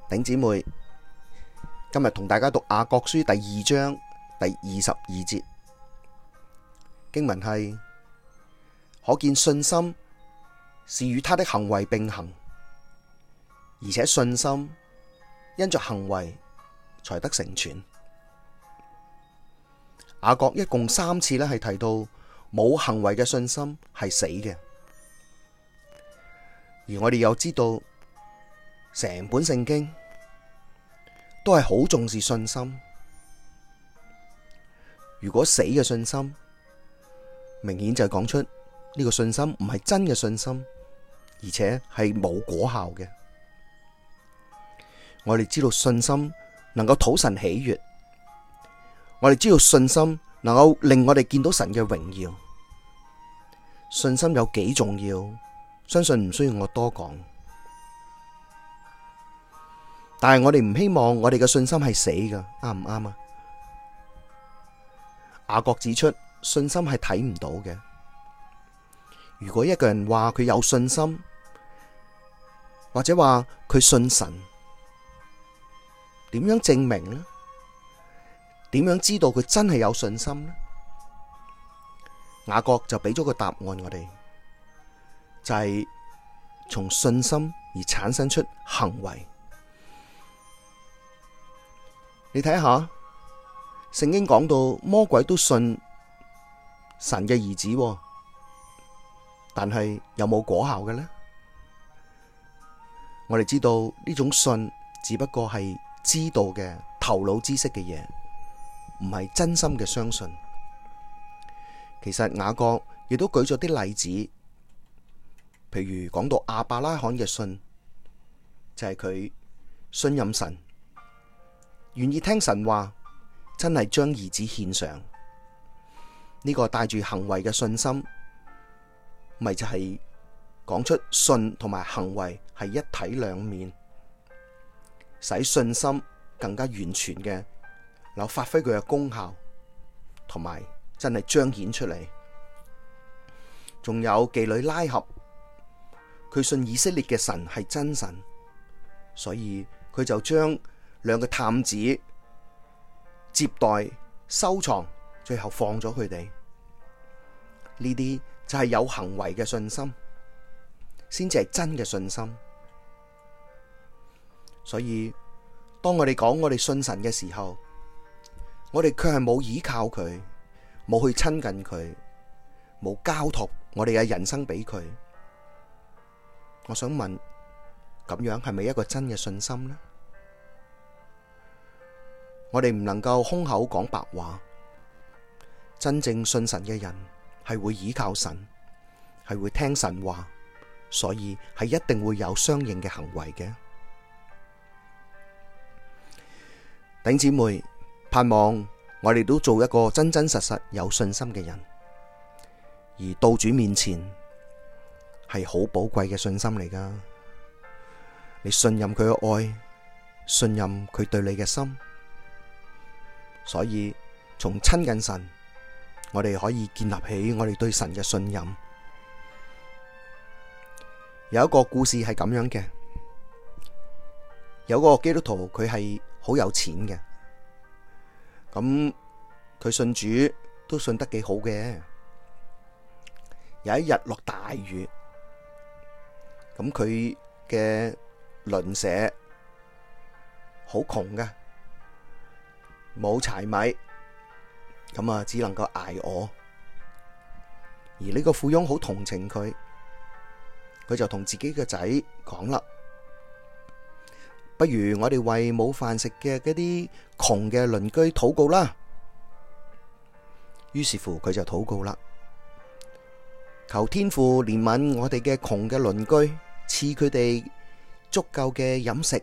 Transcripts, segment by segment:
頂姊妹，今日同大家讀雅各書第2章第22節，經文係：可見信心是與他的行為並行，而且信心因着行為才得成全。雅各一共3次係提到冇行為嘅信心係死嘅，而我哋又知道成本聖經都係好重視信心。如果死嘅信心，明顯就係講出呢個信心唔係真嘅信心，而且係冇果效嘅。我哋知道信心能夠討神喜悅，我哋知道信心能夠令我哋見到神嘅榮耀。信心有幾重要，相信唔需要我多講。但係我哋唔希望我哋嘅信心係死㗎，啱唔啱啊？雅各指出，信心係睇唔到嘅。如果一個人話佢有信心，或者話佢信神，點樣證明呢？點樣知道佢真係有信心呢？雅各就俾咗個答案我哋，就係從信心而產生出行為。你睇下，聖經講到魔鬼都信神嘅兒子，但係有冇果效嘅呢？我哋知道呢種信只不過係知道嘅頭腦知識嘅嘢，唔係真心嘅相信。其實雅各亦都舉咗啲例子，譬如講到亞伯拉罕嘅信，就係佢信任神，願意聽神話，真係將兒子獻上。呢個帶住行為嘅信心，咪就係講出信同埋行為係一體兩面，使信心更加完全嘅，能夠發揮佢嘅功效，同埋真係彰顯出嚟。仲有妓女拉合，佢信以色列嘅神係真神，所以佢就將2個探子接待收藏，最後放咗佢哋。呢啲就係有行為嘅信心，先至係真嘅信心。所以當我哋講我哋信神嘅時候，我哋卻係冇依靠佢，冇去親近佢，冇交託我哋嘅人生俾佢。我想問，咁樣係咪一個真嘅信心呢？我哋唔能夠空口講白話，真正信神嘅人係會倚靠神，係會聽神話，所以係一定會有相應嘅行為嘅。弟兄姊妹，盼望我哋都做一個真真實實有信心嘅人，而到主面前係好寶貴嘅信心嚟㗎。你信任佢嘅愛，信任佢對你嘅心。所以從親近神，我哋可以建立起我哋對神嘅信任。有一個故事係咁樣嘅，有個基督徒佢係好有錢嘅，咁佢信主都信得幾好嘅。有一日落大雨，咁佢嘅鄰舍好窮嘅，冇柴米，咁啊只能夠挨餓。而呢個富翁好同情佢，佢就同自己嘅仔講啦：不如我哋為冇飯食嘅嗰啲窮嘅鄰居禱告啦。於是乎佢就禱告啦，求天父憐憫我哋嘅窮嘅鄰居，賜佢哋足夠嘅飲食。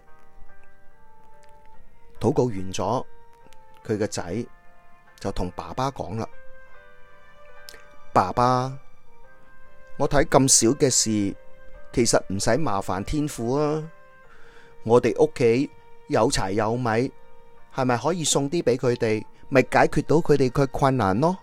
禱告完咗，佢個仔就同爸爸講啦：爸爸，我睇咁少嘅事，其實唔使麻煩天父啊。我哋屋企有柴有米，係咪可以送啲俾佢哋，咪解決到佢哋嘅困難咯？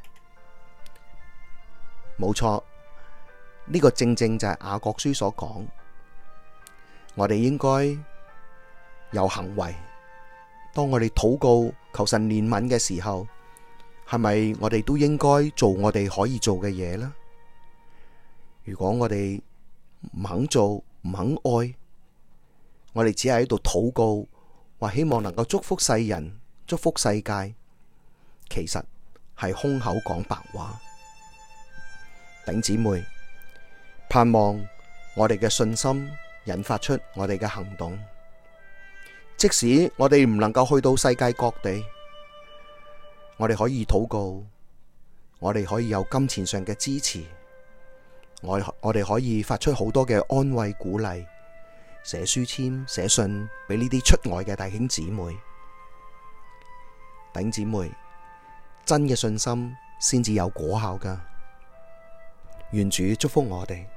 冇錯，呢個正正就係雅各書所講，我哋應該有行為。當我哋禱告求神憐憫嘅時候，係咪我哋都應該做我哋可以做嘅嘢呢？如果我哋唔肯做，唔肯愛，我哋只係喺度禱告，話希望能夠祝福世人、祝福世界，其實係空口講白話。弟兄姊妹，盼望我哋嘅信心引發出我哋嘅行動。即使我哋唔能夠去到世界各地，我哋可以禱告，我哋可以有金錢上嘅支持，我哋可以發出好多嘅安慰鼓勵，寫書籤、寫信俾呢啲出外嘅弟兄姊妹。弟兄姊妹，真嘅信心先至有果效㗎。願主祝福我哋。